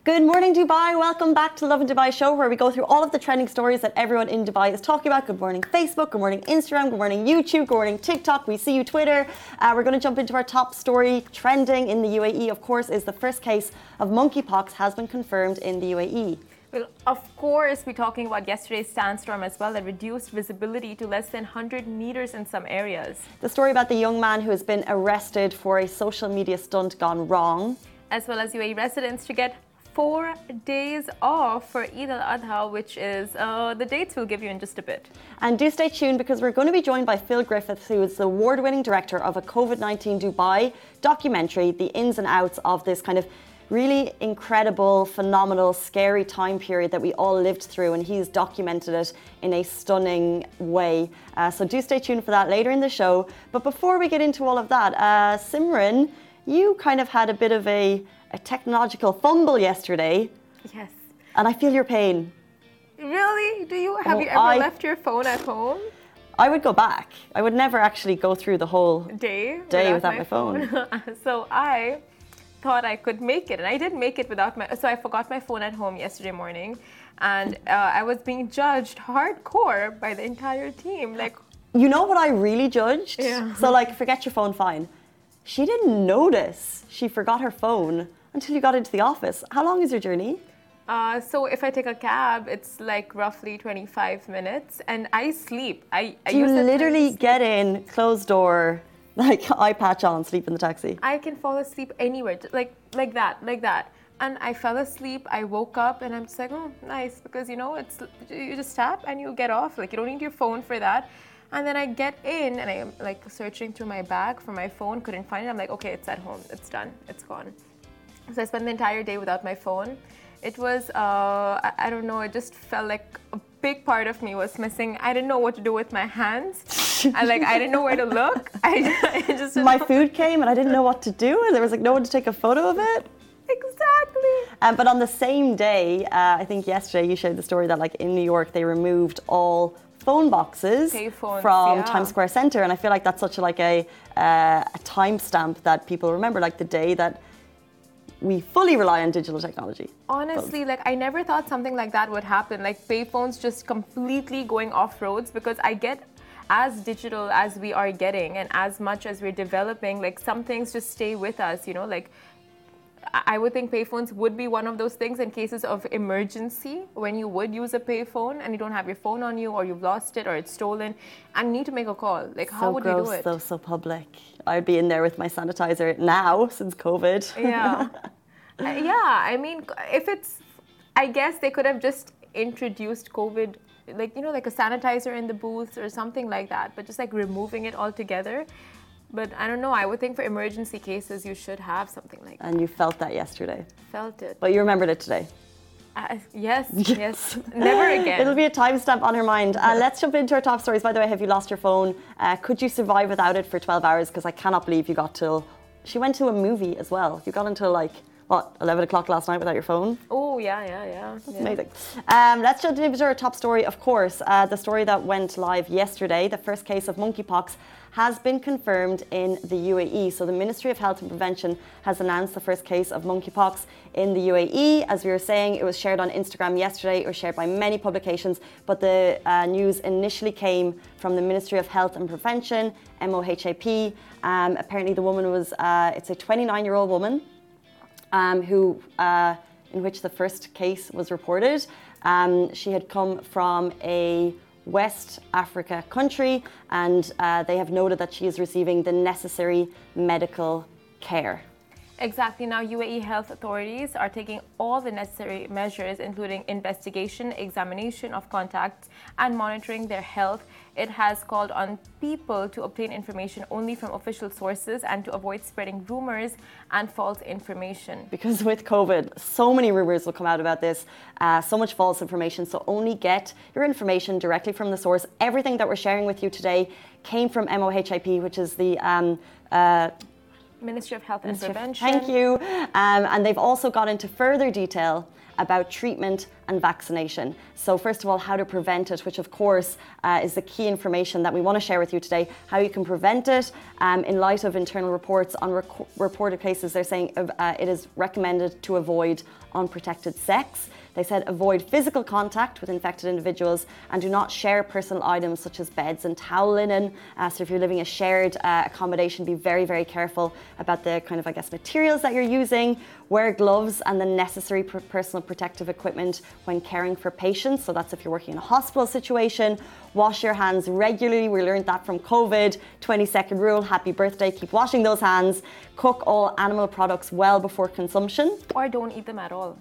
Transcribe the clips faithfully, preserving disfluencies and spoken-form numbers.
Good morning, Dubai. Welcome back to Lovin Dubai show, where we go through all of the trending stories that everyone in Dubai is talking about. Good morning, Facebook. Good morning, Instagram. Good morning, YouTube. Good morning, TikTok. We see you, Twitter. Uh, we're going to jump into our top story. Trending in the U A E, of course, is the first case of monkeypox has been confirmed in the U A E. Well, of course, we're talking about yesterday's sandstorm as well that reduced visibility to less than one hundred meters in some areas. The story about the young man who has been arrested for a social media stunt gone wrong. As well as U A E residents to get four days off for Eid al-Adha, which is uh, the dates we'll give you in just a bit. And do stay tuned, because we're going to be joined by Phil Griffiths, who is the award-winning director of a COVID nineteen Dubai documentary, the ins and outs of this kind of really incredible, phenomenal, scary time period that we all lived through, and he's documented it in a stunning way. Uh, so do stay tuned for that later in the show. But before we get into all of that, uh, Simran, you kind of had a bit of a, a technological fumble yesterday. Yes. And I feel your pain. Really? Do you? Have Oh, you ever I, left your phone at home? I would go back. I would never actually go through the whole day, day without, without my phone. phone. So I thought I could make it, and I did make it without my. So I forgot my phone at home yesterday morning, and uh, I was being judged hardcore by the entire team. Like, you know what I really judged? Yeah. So like, forget your phone, fine. She didn't notice she forgot her phone until you got into the office. How long is your journey? Uh, so if I take a cab, it's like roughly twenty-five minutes, and I sleep. I, I Do you use that literally time to get in, close door, like eye patch on, sleep in the taxi? I can fall asleep anywhere, like like that, like that. And I fell asleep. I woke up, and I'm just like, oh, nice, because you know, it's you just tap and you get off. Like, you don't need your phone for that. And then I get in, and I'm like searching through my bag for my phone, couldn't find it. I'm like, okay, it's at home, it's done, it's gone. So I spent the entire day without my phone. It was, uh, I, I don't know, it just felt like a big part of me was missing. I didn't know what to do with my hands. I like, I didn't know where to look. I, I just My know. food came and I didn't know what to do, and there was like no one to take a photo of it. Exactly. Um, but on the same day, uh, I think yesterday you shared the story that like in New York they removed all phone boxes Payphones, from yeah. Times Square Center, and I feel like that's such a, like a, uh, a timestamp that people remember, like the day that we fully rely on digital technology. Honestly, like I never thought something like that would happen. Like payphones just completely going off roads, because I get as digital as we are getting and as much as we're developing, like some things just stay with us, you know, like I would think payphones would be one of those things in cases of emergency, when you would use a payphone and you don't have your phone on you, or you've lost it, or it's stolen and need to make a call. Like, how so would gross, you do it? So, so public. I'd be in there with my sanitizer now since COVID. Yeah. uh, yeah, I mean, if it's, I guess they could have just introduced COVID, like, you know, like a sanitizer in the booths or something like that, but just like removing it altogether. But I don't know, I would think for emergency cases, you should have something like that. And you felt that yesterday. Felt it. But you remembered it today. Uh, yes, yes, never again. It'll be a timestamp on her mind. Uh, let's jump into our top stories. By the way, have you lost your phone? Uh, could you survive without it for twelve hours? Because I cannot believe you got till... She went to a movie as well. You got until like, what, eleven o'clock last night without your phone? Oh, yeah, yeah, yeah. That's yeah. amazing. Um, let's jump into our top story, of course. Uh, the story that went live yesterday, the first case of monkeypox has been confirmed in the U A E. So the Ministry of Health and Prevention has announced the first case of monkeypox in the U A E. As we were saying, it was shared on Instagram yesterday. It was shared by many publications, but the uh, news initially came from the Ministry of Health and Prevention, M O H A P. Um, apparently the woman was, uh, it's a twenty-nine-year-old woman um, who, uh, in which the first case was reported. Um, she had come from a West Africa country, and uh, they have noted that she is receiving the necessary medical care. Exactly. Now, U A E health authorities are taking all the necessary measures, including investigation, examination of contacts, and monitoring their health. It has called on people to obtain information only from official sources and to avoid spreading rumors and false information. Because with COVID, so many rumors will come out about this, uh, so much false information. So only get your information directly from the source. Everything that we're sharing with you today came from M O H A P, which is the um, uh, Ministry of Health and Ministry of- Prevention. Thank you. Um, and they've also got into further detail about treatment and vaccination. So first of all, how to prevent it, which of course uh, is the key information that we want to share with you today, how you can prevent it. Um, in light of internal reports on rec- reported cases, they're saying uh, it is recommended to avoid unprotected sex. They said avoid physical contact with infected individuals and do not share personal items such as beds and towel linen. Uh, so if you're living a shared uh, accommodation, be very, very careful about the kind of, I guess, materials that you're using. Wear gloves and the necessary per- personal protective equipment when caring for patients. So that's if you're working in a hospital situation. Wash your hands regularly. We learned that from COVID. twenty second rule. Happy birthday. Keep washing those hands. Cook all animal products well before consumption. Or don't eat them at all.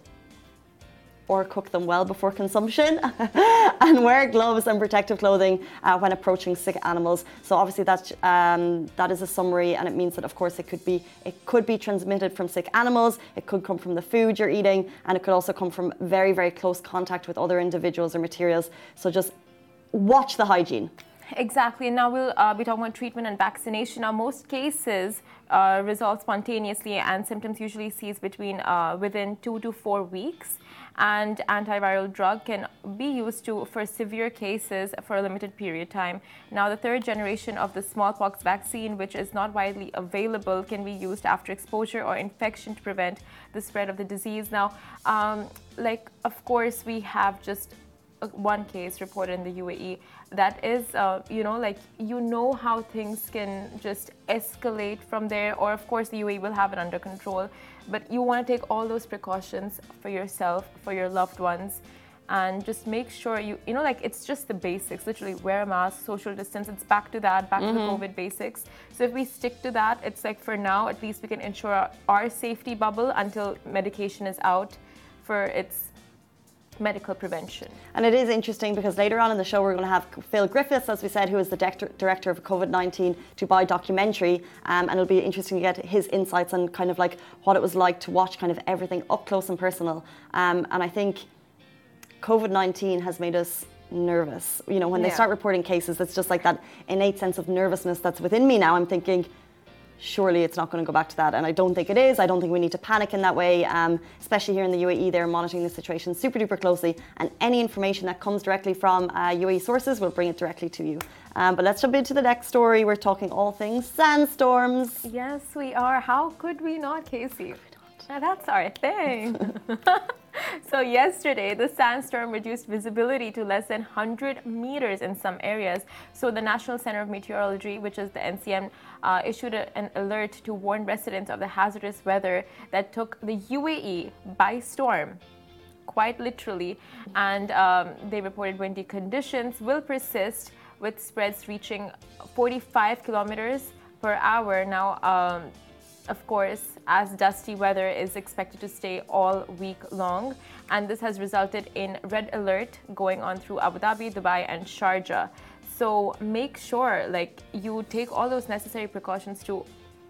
Or cook them well before consumption. And wear gloves and protective clothing uh, when approaching sick animals. So obviously that um, that is a summary, and it means that of course it could be it could be transmitted from sick animals, it could come from the food you're eating, and it could also come from very, very close contact with other individuals or materials. So just watch the hygiene. Exactly. And now we'll uh, be talking about treatment and vaccination. Now, most cases uh, resolve spontaneously, and symptoms usually cease between uh, within two to four weeks. And antiviral drug can be used to for severe cases for a limited period of time. Now, the third generation of the smallpox vaccine, which is not widely available, can be used after exposure or infection to prevent the spread of the disease. Now, um, like, of course, we have just one case reported in the U A E that is, uh, you know, like, you know how things can just escalate from there, or of course the U A E will have it under control, but you want to take all those precautions for yourself, for your loved ones, and just make sure you, you know, like, it's just the basics, literally wear a mask, social distance, it's back to that, back mm-hmm. to the COVID basics. So if we stick to that, it's like, for now, at least we can ensure our, our safety bubble until medication is out for its medical prevention. And it is interesting because later on in the show we're going to have Phil Griffiths, as we said, who is the director, director of a COVID nineteen Dubai documentary, um, and it'll be interesting to get his insights on kind of like what it was like to watch kind of everything up close and personal. Um, and I think COVID nineteen has made us nervous. You know, when yeah. they start reporting cases, it's just like that innate sense of nervousness that's within me now. I'm thinking, surely it's not going to go back to that, and I don't think it is. I don't think we need to panic in that way, um, especially here in the U A E. They're monitoring the situation super duper closely, and any information that comes directly from uh, U A E sources will bring it directly to you. Um, but let's jump into the next story. We're talking all things sandstorms. Yes, we are. How could we not, Casey? Now that's our thing. So yesterday, the sandstorm reduced visibility to less than one hundred meters in some areas. So the National Center of Meteorology, which is the N C M, uh, issued a, an alert to warn residents of the hazardous weather that took the U A E by storm, quite literally. And um, they reported windy conditions will persist, with spreads reaching forty-five kilometers per hour. Now, um, of course, as dusty weather is expected to stay all week long, and this has resulted in red alert going on through Abu Dhabi, Dubai, and Sharjah. So make sure, like, you take all those necessary precautions to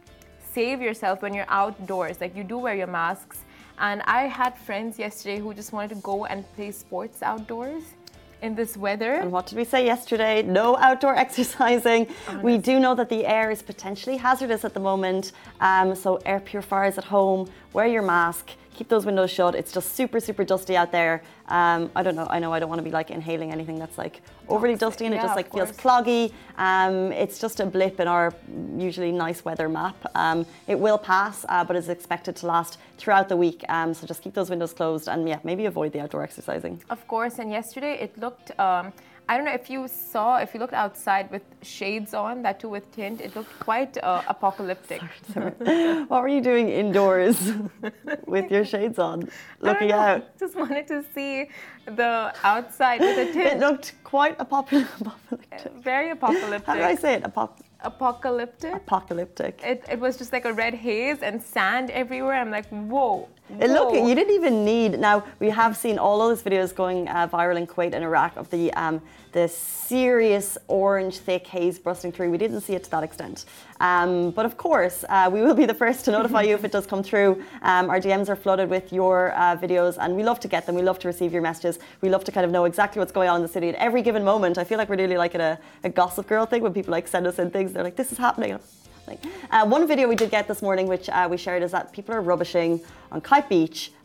save yourself when you're outdoors. Like, you do wear your masks. And I had friends yesterday who just wanted to go and play sports outdoors in this weather. And what did we say yesterday? No outdoor exercising. Honest. We do know that the air is potentially hazardous at the moment. Um, so air purifiers at home, wear your mask, keep those windows shut. It's just super, super dusty out there. Um, I don't know. I know I don't want to be like inhaling anything that's like overly dusty, and yeah, it just like feels cloggy. Um, it's just a blip in our usually nice weather map. Um, it will pass, uh, but is expected to last throughout the week. Um, so just keep those windows closed, and yeah, maybe avoid the outdoor exercising. Of course. And yesterday it looked, um, I don't know if you saw, if you looked outside with shades on, that too with tint, it looked quite uh, apocalyptic. Sorry, sorry. What were you doing indoors with your shades on, looking out? Just wanted to see the outside with a tint. It looked quite apocalyptic. Very apocalyptic. How do I say it? Apop- Apocalyptic. Apocalyptic. It, it was just like a red haze and sand everywhere. I'm like, whoa. It look, you didn't even need. Now we have seen all of those videos going uh, viral in Kuwait and Iraq of the um, the serious orange thick haze busting through. We didn't see it to that extent, um, but of course uh, we will be the first to notify you if it does come through. Um, our D Ms are flooded with your uh, videos, and we love to get them. We love to receive your messages. We love to kind of know exactly what's going on in the city at every given moment. I feel like we're really like at a, a Gossip Girl thing when people like send us in things. They're like, "This is happening." Uh, one video we did get this morning, which uh, we shared, is that people are rubbishing on Kite Beach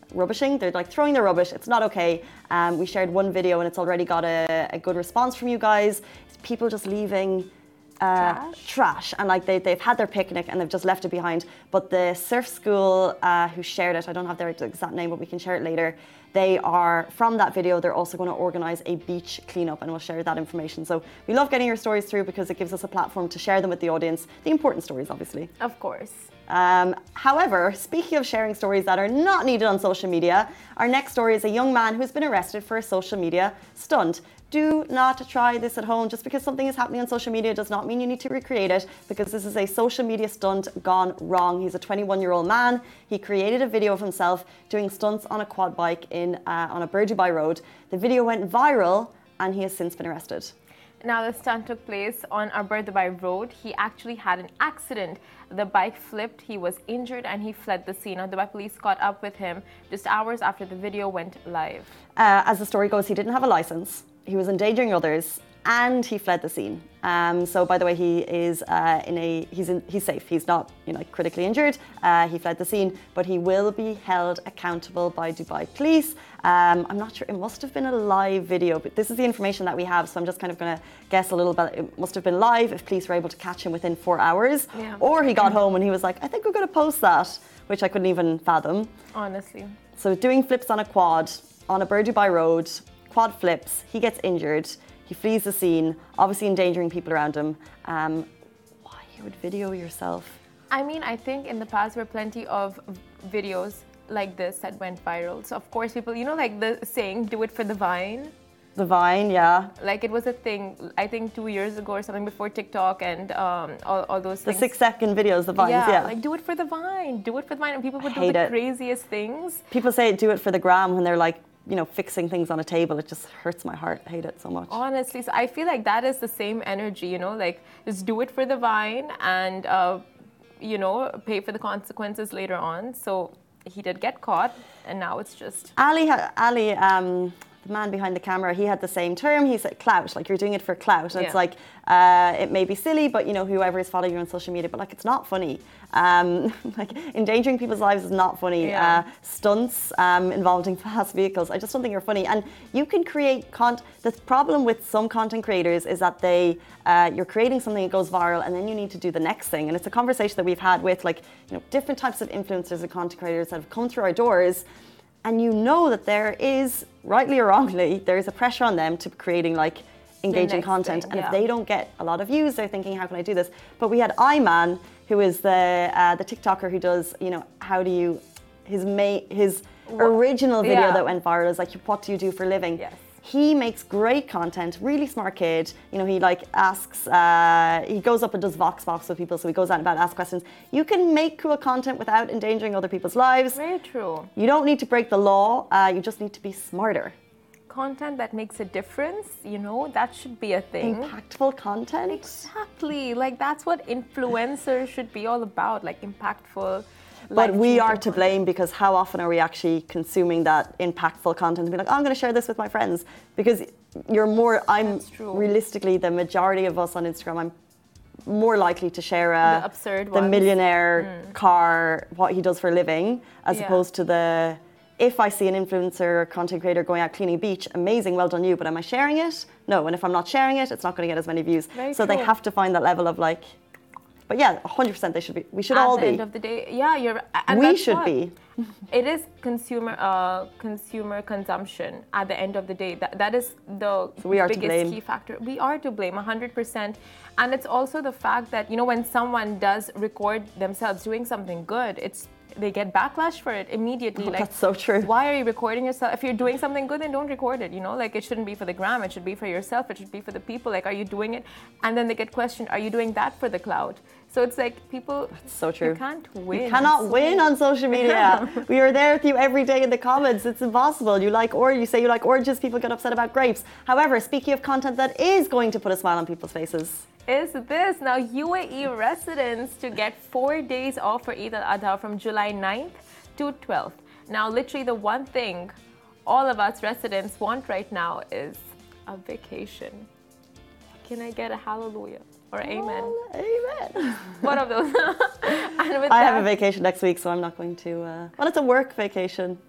rubbishing. They're like throwing their rubbish. It's not okay. Um, we shared one video and it's already got a, a good response from you guys. People just leaving uh, trash. trash and like they, they've had their picnic and they've just left it behind. But the surf school uh, who shared it, I don't have their exact name, but we can share it later. They are, from that video, they're also going to organise a beach cleanup and we'll share that information. So we love getting your stories through because it gives us a platform to share them with the audience. The important stories, obviously. Of course. Um, however, speaking of sharing stories that are not needed on social media, our next story is a young man who's been arrested for a social media stunt. Do not try this at home. Just because something is happening on social media does not mean you need to recreate it, because this is a social media stunt gone wrong. He's a twenty-one-year-old man. He created a video of himself doing stunts on a quad bike in uh, on a Burdubai road. The video went viral and he has since been arrested. Now, the stunt took place on Arbor Dubai Road. He actually had an accident. The bike flipped, he was injured, and he fled the scene. Now, Dubai police caught up with him just hours after the video went live. Uh, as the story goes, he didn't have a license. He was endangering others, and he fled the scene. Um, so, by the way, he is uh, in a he's in, he's safe. He's not, you know, critically injured. Uh, he fled the scene, but he will be held accountable by Dubai police. Um, I'm not sure. It must have been a live video, but this is the information that we have. So I'm just kind of going to guess a little bit. It must have been live if police were able to catch him within four hours, yeah. Or he got home and he was like, "I think we're going to post that," which I couldn't even fathom. Honestly. So doing flips on a quad on a Burdubai road. Quad flips, he gets injured, he flees the scene, obviously endangering people around him. Um, why you would video yourself? I mean, I think in the past there were plenty of videos like this that went viral. So of course people, you know, like the saying, do it for the Vine. The Vine, yeah. Like it was a thing, I think two years ago or something, before TikTok and um, all, all those the things. The six second videos, the Vines, yeah, yeah. like do it for the Vine, do it for the Vine. And people would I do hate the it. craziest things. People say do it for the gram when they're like, you know, fixing things on a table. It just hurts my heart. I hate it so much. Honestly, so I feel like that is the same energy, you know, like just do it for the Vine and, uh, you know, pay for the consequences later on. So he did get caught and now it's just... Ali, Ali um, the man behind the camera, he had the same term. He said clout, like you're doing it for clout. And yeah. It's like, uh, it may be silly, but you know, whoever is following you on social media, but like it's not funny. Um, like endangering people's lives is not funny. Yeah. Uh, stunts um, involving fast vehicles, I just don't think you're funny. And you can create content. The problem with some content creators is that they, uh, you're creating something that goes viral and then you need to do the next thing. And it's a conversation that we've had with like, you know, different types of influencers and content creators that have come through our doors. And you know that there is, rightly or wrongly, there is a pressure on them to creating like engaging content. Thing, and yeah. if they don't get a lot of views, they're thinking, how can I do this? But we had Iman, who is the uh, the TikToker who does, you know, how do you, his ma- his original video yeah. that went viral is like, what do you do for a living? Yes. He makes great content, really smart kid. You know, he like asks, uh, he goes up and does Vox Box with people, so he goes out and about asks questions. You can make cool content without endangering other people's lives. Very true. You don't need to break the law, uh, you just need to be smarter. Content that makes a difference, you know, that should be a thing. Impactful content. Exactly. Like that's what influencers should be all about, like impactful. But we are to blame because how often are we actually consuming that impactful content and be like, oh, I'm going to share this with my friends? Because you're more, I'm realistically, the majority of us on Instagram, I'm more likely to share a, the absurd the ones. millionaire mm. car, what he does for a living, as yeah. opposed to the, if I see an influencer or content creator going out cleaning a beach, amazing, well done you, but am I sharing it? No, and if I'm not sharing it, it's not going to get as many views. Very so true. They have to find that level of like, but yeah, one hundred percent they should be, we should At all the be. end of the day, yeah, you're and we that's should what. be. It is consumer uh, consumer consumption at the end of the day. That that is the so we are biggest to blame. key factor. We are to blame one hundred percent. And it's also the fact that, you know, when someone does record themselves doing something good, it's they get backlash for it immediately. Oh, like, that's so true. Why are you recording yourself? If you're doing something good, then don't record it. You know, like it shouldn't be for the gram. It should be for yourself. It should be for the people. Like, are you doing it? And then they get questioned, are you doing that for the cloud? So it's like people. That's so true. You can't win. You cannot so win on social media. We are there with you every day in the comments. It's impossible. You like or you say you like oranges. People get upset about grapes. However, speaking of content that is going to put a smile on people's faces. Is this now U A E residents to get four days off for Eid al-Adha from July ninth to twelfth. Now, literally the one thing all of us residents want right now is a vacation. Can I get a hallelujah or amen? Oh, amen. One of those. And with I that, have a vacation next week, so I'm not going to. Uh, well, it's a work vacation.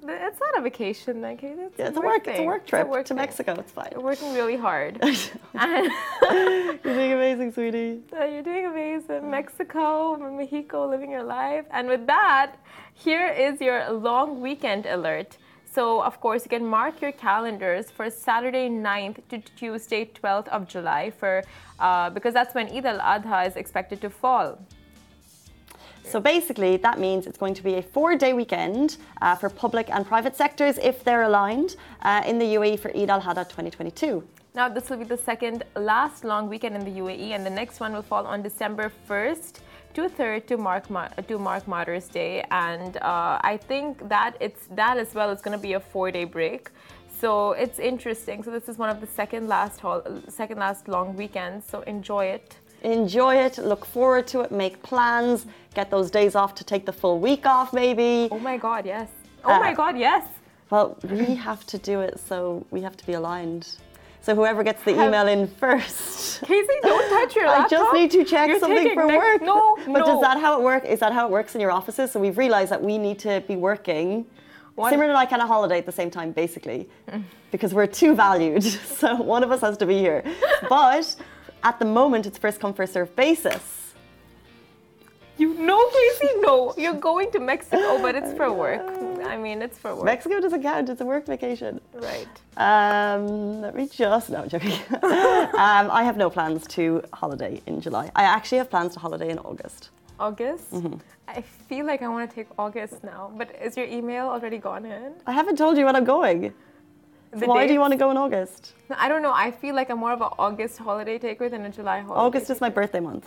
It's not a vacation, like it's, yeah, it's a work, work, thing. it's a work trip It's a work to thing. Mexico. It's fine. You're working really hard. You're doing amazing, sweetie. So you're doing amazing. Mexico, Mexico, living your life. And with that, here is your long weekend alert. So, of course, you can mark your calendars for Saturday ninth to Tuesday twelfth of July for uh, because that's when Eid al-Adha is expected to fall. So basically, that means it's going to be a four-day weekend uh, for public and private sectors if they're aligned uh, in the U A E for Eid al-Adha twenty twenty-two. Now, this will be the second last long weekend in the U A E, and the next one will fall on December first to third to mark to mark Mother's Day, and uh, I think that it's that as well is going to be a four-day break. So it's interesting. So this is one of the second last hol- second last long weekends. So enjoy it. Enjoy it, look forward to it, make plans, get those days off to take the full week off maybe. Oh my God, yes. Oh Uh, my God, yes. Well, we have to do it, so we have to be aligned. So whoever gets the Have- email in first. Casey, don't touch your I laptop. just need to check You're something taking for next- work. No, But no. does that how it work? Is that how it works in your offices? So we've realized that we need to be working One- Simran and I can a holiday at the same time, basically, because we're too valued. So one of us has to be here. But at the moment, it's first come, first served basis. You know, Casey, no. You're going to Mexico, but it's for work. I mean, it's for work. Mexico doesn't count, it's a work vacation. Right. Um, let me just, no, I'm joking. um, I have no plans to holiday in July. I actually have plans to holiday in August. August? Mm-hmm. I feel like I want to take August now, but is your email already gone in? I haven't told you when I'm going. The Why do you dates? want to go in August? I don't know. I feel like I'm more of an August holiday taker than a July holiday. August is my birthday month.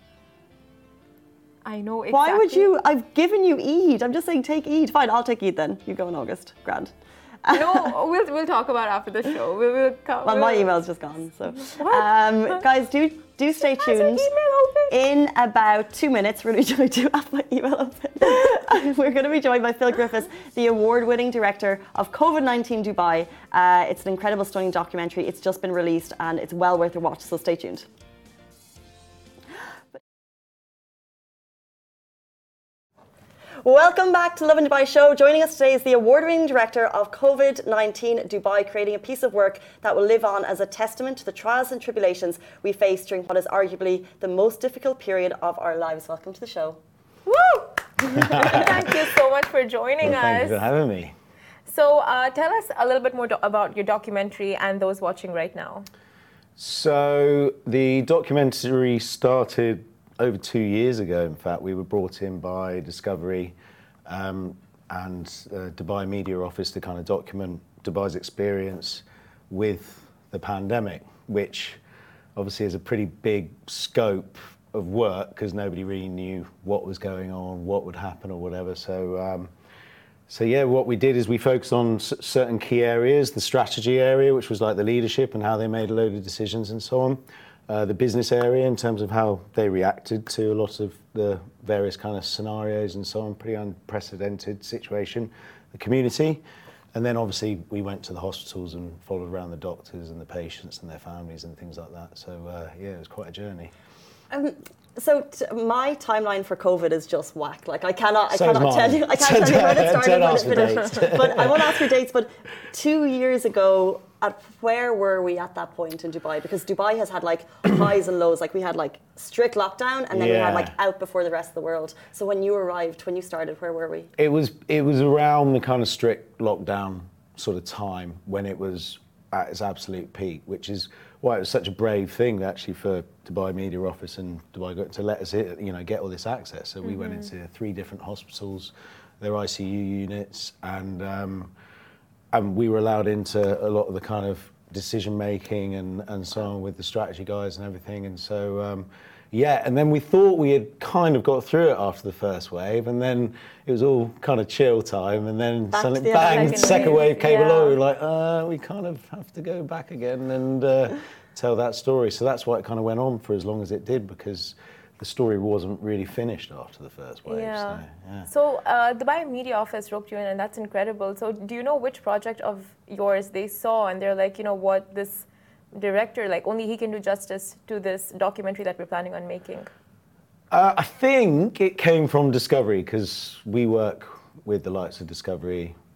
I know exactly. Why would you? I've given you Eid. I'm just saying take Eid. Fine, I'll take Eid then. You go in August. Grand. No, we'll we'll talk about it after the show. We'll, we'll co- Well, my we'll- email's just gone. So, What? um, guys, do do stay Has your tuned. email open? In about two minutes, we're going to be joined. Do have my email open. We're going to be joined by Phil Griffiths, the award-winning director of COVID nineteen Dubai. Uh, it's an incredible, stunning documentary. It's just been released, and it's well worth a watch. So stay tuned. Welcome back to Lovin Dubai Show. Joining us today is the award-winning director of COVID nineteen Dubai, creating a piece of work that will live on as a testament to the trials and tribulations we face during what is arguably the most difficult period of our lives. Welcome to the show. Woo! Thank you so much for joining Well, thank us. you for having me. So, uh, tell us a little bit more do- about your documentary and those watching right now. So the documentary started over two years ago. In fact, we were brought in by Discovery um, and uh, Dubai Media Office to kind of document Dubai's experience with the pandemic, which obviously is a pretty big scope of work because nobody really knew what was going on, what would happen or whatever. So, um, so yeah, what we did is we focused on s- certain key areas, the strategy area, which was like the leadership and how they made a load of decisions and so on. Uh, the business area in terms of how they reacted to a lot of the various kind of scenarios and so on, pretty unprecedented situation. The community, and then obviously we went to the hospitals and followed around the doctors and the patients and their families and things like that. So uh, yeah, it was quite a journey. Um, so t- my timeline for COVID is just whack. Like I cannot, I So is cannot mine. tell you, I can't tell you when it started, Don't when it ask for finished. dates. But I won't ask for dates. But two years ago, at where were we at that point in Dubai? Because Dubai has had like highs and lows. Like we had like strict lockdown, and then we had Yeah. like out before the rest of the world. So when you arrived, when you started, where were we? It was it was around the kind of strict lockdown sort of time when it was at its absolute peak, which is why it was such a brave thing actually for Dubai Media Office and Dubai got to let us, you know, get all this access. So we went into three different hospitals, their I C U units, and um, and we were allowed into a lot of the kind of decision making and and so on with the strategy guys and everything. And so. Um, Yeah, and then we thought we had kind of got through it after the first wave, and then it was all kind of chill time, and then Back to suddenly the other bang, second second wave. wave came Yeah. along. We were like, uh, we kind of have to go back again and uh, tell that story. So that's why it kind of went on for as long as it did, because the story wasn't really finished after the first wave. Yeah. So, yeah. So, uh, Dubai Media Office roped you in, and that's incredible. So, do you know which project of yours they saw, and they're like, you know what, this director, like, only he can do justice to this documentary that we're planning on making? Uh, I think it came from Discovery because we work with the likes of Discovery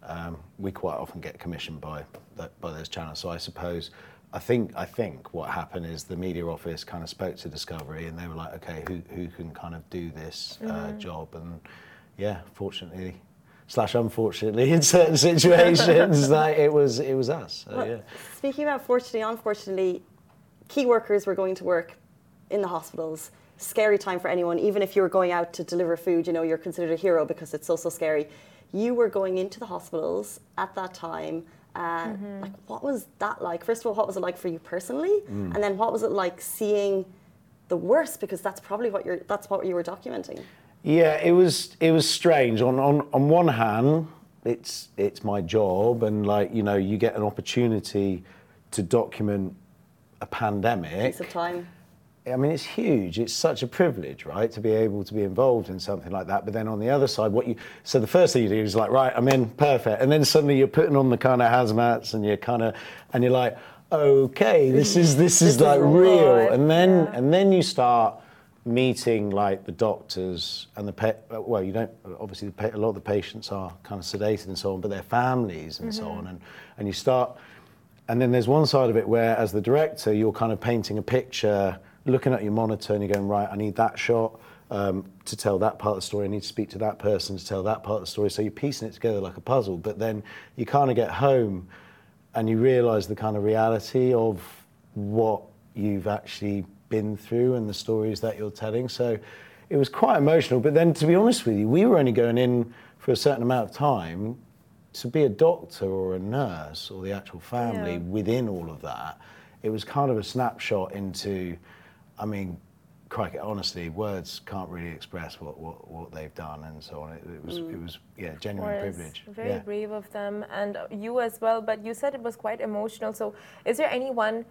um, we quite often get commissioned by that, by those channels. So I suppose, I think I think what happened is the media office kind of spoke to Discovery, and they were like, okay, who who can kind of do this uh, mm-hmm. job? And yeah, fortunately slash unfortunately in certain situations, like it was it was us. So, well, yeah. Speaking about fortunately, unfortunately, key workers were going to work in the hospitals. Scary time for anyone. Even if you were going out to deliver food, you know, you're considered a hero because it's so so scary. You were going into the hospitals at that time. Uh, mm-hmm. Like, what was that like? First of all, what was it like for you personally, mm. and then what was it like seeing the worst? Because that's probably what you're. That's what you were documenting. Yeah, it was. It was strange. On on on one hand, it's it's my job, and like you know, you get an opportunity to document a pandemic. Piece of time. I mean, it's huge. It's such a privilege, right, to be able to be involved in something like that. But then on the other side, what you so the first thing you do is like, right, I'm in, perfect. And then suddenly you're putting on the kind of hazmats, and you're kind of, and you're like, okay, this is this, this is like is real. And then yeah. and then you start meeting like the doctors and the pa- well, you don't obviously the pa- a lot of the patients are kind of sedated and so on, but their families and mm-hmm. so on, and and you start, and then there's one side of it where, as the director, you're kind of painting a picture. Looking at your monitor and you're going, right, I need that shot um, to tell that part of the story. I need to speak to that person to tell that part of the story. So you're piecing it together like a puzzle. But then you kind of get home and you realise the kind of reality of what you've actually been through and the stories that you're telling. So it was quite emotional. But then, to be honest with you, we were only going in for a certain amount of time. To be a doctor or a nurse or the actual family yeah. within all of that, it was kind of a snapshot into... I mean, crikey, honestly, words can't really express what, what, what they've done and so on. It, it was, mm. it was, yeah, genuine privilege. Very yeah. brave of them, and you as well. But you said it was quite emotional. So, is there any one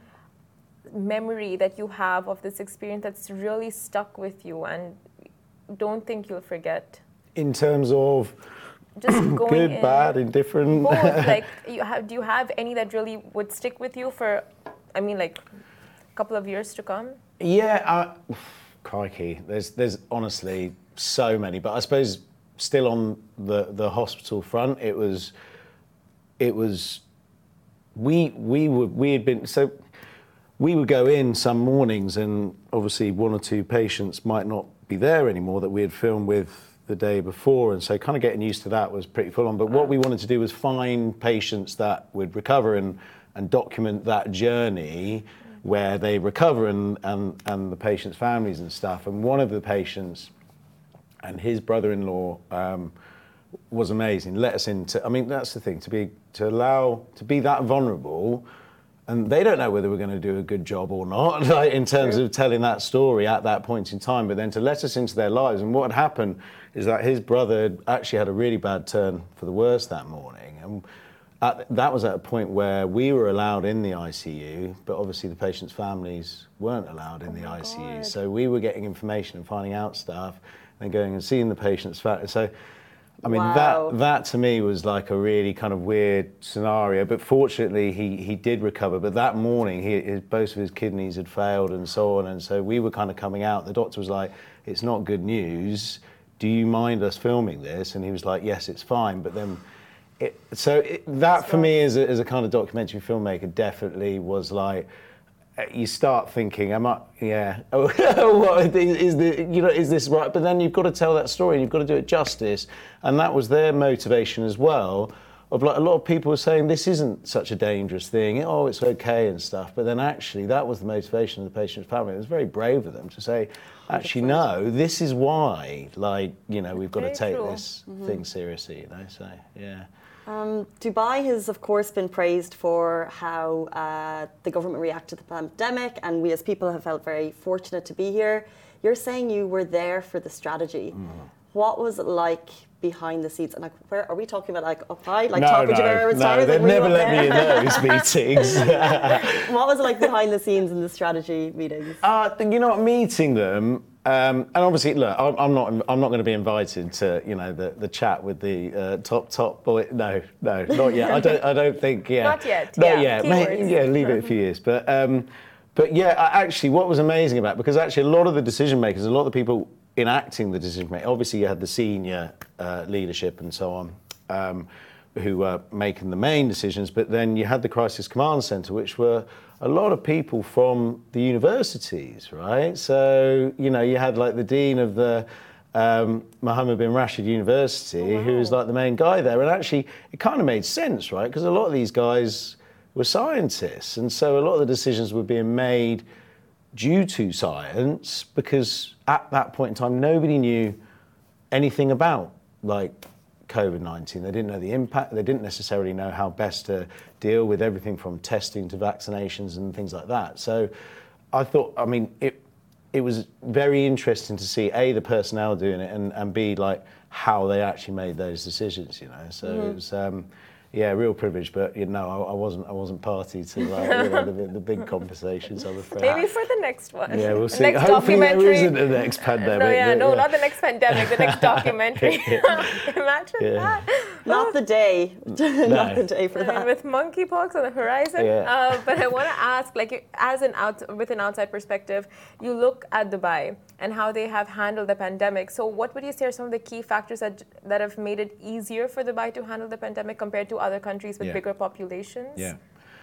memory that you have of this experience that's really stuck with you and don't think you'll forget? In terms of just going good, in, bad, indifferent. Both. Like, you have, do you have any that really would stick with you for? I mean, like, a couple of years to come. Yeah, uh, crikey. There's, there's honestly so many, but I suppose still on the, the hospital front, it was, it was, we we would we had been so, we would go in some mornings, and obviously one or two patients might not be there anymore that we had filmed with the day before, and so kind of getting used to that was pretty full on. But what we wanted to do was find patients that would recover and and document that journey, where they recover and, and, and the patients' families and stuff. And one of the patients and his brother-in-law um, was amazing. Let us into, I mean, that's the thing, to be, to allow, to be that vulnerable, and they don't know whether we're going to do a good job or not, like in terms True. Of telling that story at that point in time, but then to let us into their lives. And what had happened is that his brother actually had a really bad turn for the worse that morning. And At, that was at a point where we were allowed in the I C U, but obviously the patients' families weren't allowed in oh the I C U. God. So we were getting information and finding out stuff, and going and seeing the patients' families. So, I mean, wow. that that to me was like a really kind of weird scenario. But fortunately, he he did recover. But that morning, he his, both of his kidneys had failed and so on. And so we were kind of coming out. The doctor was like, "It's not good news. Do you mind us filming this?" And he was like, "Yes, it's fine." But then. It, so it, that for me as a, as a kind of documentary filmmaker definitely was like, you start thinking, am I, yeah, oh, what, is, is the, you know, is this right? But then you've got to tell that story and you've got to do it justice. And that was their motivation as well, of like a lot of people were saying this isn't such a dangerous thing, oh, it's okay and stuff. But then actually that was the motivation of the patient's family. It was very brave of them to say, actually, no, this is why, like, you know, we've got very to take true. This mm-hmm. thing seriously, you know, so, yeah. Um, Dubai has, of course, been praised for how uh, the government reacted to the pandemic, and we as people have felt very fortunate to be here. You're saying you were there for the strategy. Mm. What was it like behind the scenes? And like, where are we talking about? Like up high, like no, top of no, Jumeirah? No, they'd never let me in those meetings. What was it like behind the scenes in the strategy meetings? Uh, you know what, meeting them. Um, and obviously, look, I'm, I'm not. I'm not going to be invited to, you know, the, the chat with the uh, top top boy. No, no, not yet. I don't. I don't think. Yeah, not yet. Not yeah, yet. Maybe, yeah, leave it a few years. But um, but yeah, I, actually, what was amazing about it, because actually a lot of the decision makers, a lot of the people enacting the decision making, obviously you had the senior uh, leadership and so on. Um, who were making the main decisions, but then you had the Crisis Command Centre, which were a lot of people from the universities, right? So, you know, you had like the dean of the um, Mohammed bin Rashid University, oh, wow. who was like the main guy there. And actually, it kind of made sense, right? Because a lot of these guys were scientists. And so a lot of the decisions were being made due to science, because at that point in time, nobody knew anything about like COVID nineteen. They didn't know the impact. They didn't necessarily know how best to deal with everything from testing to vaccinations and things like that. So I thought, I mean, it it was very interesting to see A, the personnel doing it, and, and B, like how they actually made those decisions, you know. So mm-hmm. it was, um, yeah, real privilege, but you know, I, I wasn't, I wasn't party to like, you know, the, the big conversations. I'm afraid. Maybe for the next one. Yeah, we'll see. Next Hopefully there isn't a next pandemic. No, yeah, but, no, yeah. not the next pandemic. The next documentary. Imagine yeah. that. Not the day. No. Not the day for I that. mean, with monkeypox on the horizon. Yeah. Uh, but I want to ask, like, as an out with an outside perspective, you look at Dubai and how they have handled the pandemic. So, what would you say are some of the key factors that that have made it easier for Dubai to handle the pandemic compared to other countries with yeah. bigger populations? Yeah.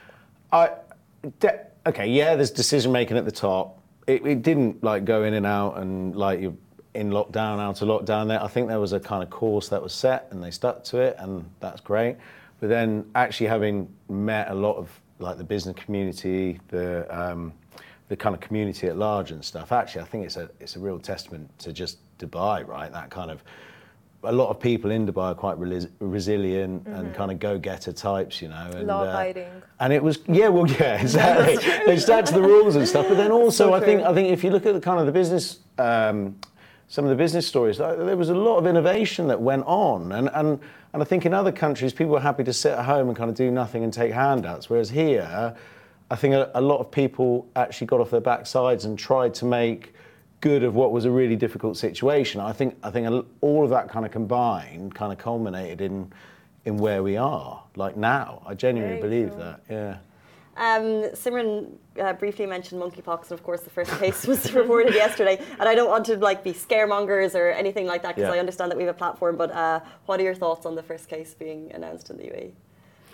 I. De- okay. Yeah. There's decision making at the top. It, it didn't like go in and out and like you. in lockdown, out of lockdown there. I think there was a kind of course that was set and they stuck to it, and that's great. But then actually having met a lot of like the business community, the um, the kind of community at large and stuff, actually I think it's a it's a real testament to just Dubai, right? That kind of, a lot of people in Dubai are quite res- resilient mm-hmm. and kind of go-getter types, you know. And, law-abiding. Uh, and it was, yeah, well, yeah, exactly. They stuck to the rules and stuff. But then also, so I think I think if you look at the kind of the business, um, some of the business stories, there was a lot of innovation that went on. And, and, and I think in other countries, people were happy to sit at home and kind of do nothing and take handouts. Whereas here, I think a, a lot of people actually got off their backsides and tried to make good of what was a really difficult situation. I think I think all of that kind of combined kind of culminated in in where we are, like now. I genuinely Very believe true. that, yeah. Um, Simran uh, briefly mentioned monkeypox, and of course the first case was reported yesterday. And I don't want to like be scaremongers or anything like that, because yeah. I understand that we have a platform. But uh, what are your thoughts on the first case being announced in the U A E?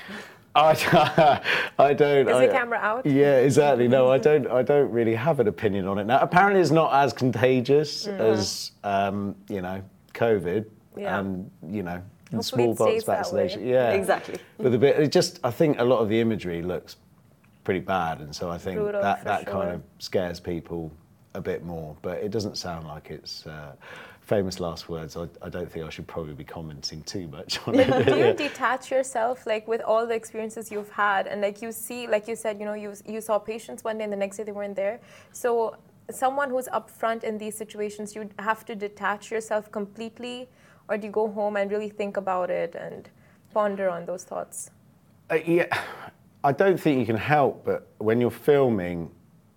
I, I don't. Is I, the camera out? Yeah, exactly. No, I don't. I don't really have an opinion on it now. Apparently, it's not as contagious mm. as um, you know, COVID yeah. and you know, Hopefully smallpox vaccination. Yeah, exactly. But the bit, it just, I think a lot of the imagery looks pretty bad, and so I think Brutal, that that sure. kind of scares people a bit more. But it doesn't sound like it's. Uh, Famous last words. I, I don't think I should probably be commenting too much on it. Do you detach yourself, like with all the experiences you've had, and like you see, like you said, you know, you you saw patients one day and the next day they weren't there. So someone who's upfront in these situations, you have to detach yourself completely, or do you go home and really think about it and ponder on those thoughts? Uh, yeah, I don't think you can help, but when you're filming,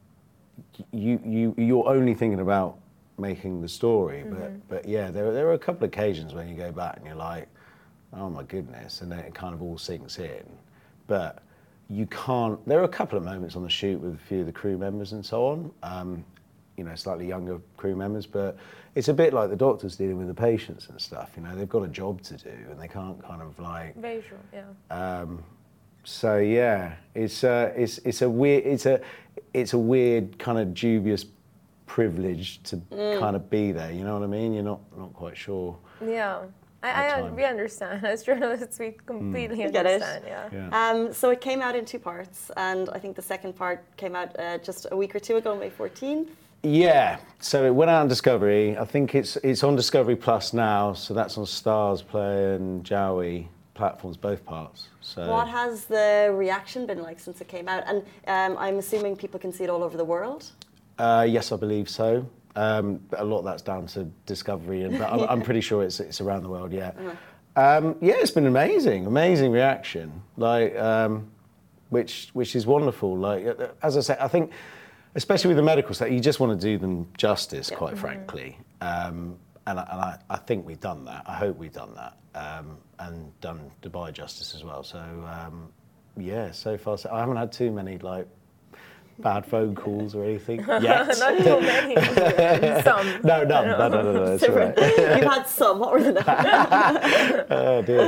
you you you're only thinking about making the story, mm-hmm. but but yeah, there there are a couple of occasions when you go back and you're like, oh my goodness, and then it kind of all sinks in. But you can't. There are a couple of moments on the shoot with a few of the crew members and so on, um, you know, slightly younger crew members, but it's a bit like the doctors dealing with the patients and stuff. You know, they've got a job to do and they can't kind of like. Very true. Yeah. Um, so yeah, it's uh, it's it's a weird it's a it's a weird kind of dubious privilege to mm. kind of be there, you know what I mean? You're not not quite sure. Yeah, I, I we understand. As journalists, we completely mm. understand. Yeah. yeah. Um, so it came out in two parts, and I think the second part came out uh, just a week or two ago, May fourteenth. Yeah. So it went out on Discovery. I think it's it's on Discovery Plus now. So that's on Stars Play and Jowie platforms, both parts. So what has the reaction been like since it came out? And um, I'm assuming people can see it all over the world. Uh, yes, I believe so. Um, a lot of that's down to Discovery, and but I'm, I'm pretty sure it's it's around the world. Yeah, uh-huh. um, yeah, it's been amazing, amazing reaction. Like, um, which which is wonderful. Like, as I said, I think, especially with the medical stuff, you just want to do them justice, yeah. quite mm-hmm. frankly. Um, and I, and I, I think we've done that. I hope we've done that, um, and done Dubai justice as well. So um, yeah, so far so I haven't had too many like. bad phone calls or anything yet. Not too many. Some. No, none. No, no, no, no. It's all right. You've had some. What were the numbers? Oh dear.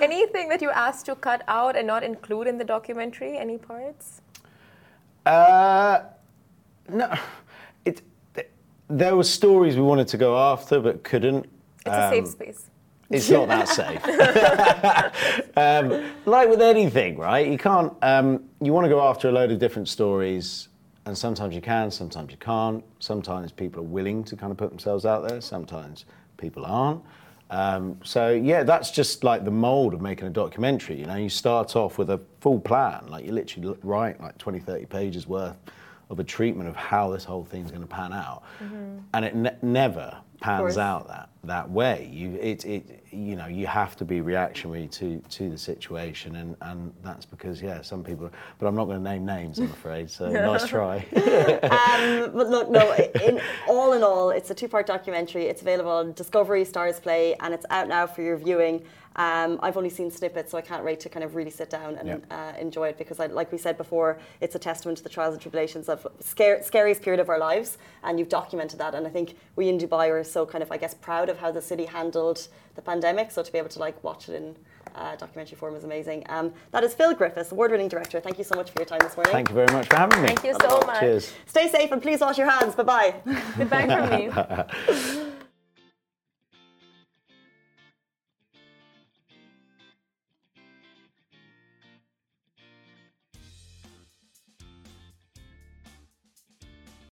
Anything that you asked to cut out and not include in the documentary? Any parts? Uh, no. It, there were stories we wanted to go after but couldn't. It's a safe space. It's not that safe. um, like with anything, right? You can't, um, you want to go after a load of different stories, and sometimes you can, sometimes you can't. Sometimes people are willing to kind of put themselves out there, sometimes people aren't. Um, so yeah, that's just like the mold of making a documentary. You know, you start off with a full plan, like you literally write like twenty, thirty pages worth of a treatment of how this whole thing's going to pan out, mm-hmm. and it ne- never pans out that that way. You it it you know you have to be reactionary to to the situation, and and that's because yeah, some people. But I'm not going to name names, I'm afraid. So nice try. um, but look, no. In all in all, it's a two-part documentary. It's available on Discovery, Stars Play, and it's out now for your viewing. Um, I've only seen snippets, so I can't wait to kind of really sit down and yep. uh, enjoy it, because, I, like we said before, it's a testament to the trials and tribulations of scare, scariest period of our lives, and you've documented that. And I think we in Dubai are so kind of, I guess, proud of how the city handled the pandemic. So to be able to like watch it in uh, documentary form is amazing. Um, that is Phil Griffiths, award-winning director. Thank you so much for your time this morning. Thank you very much for having me. Thank you so much. Cheers. Stay safe and please wash your hands. Bye bye. Goodbye from me.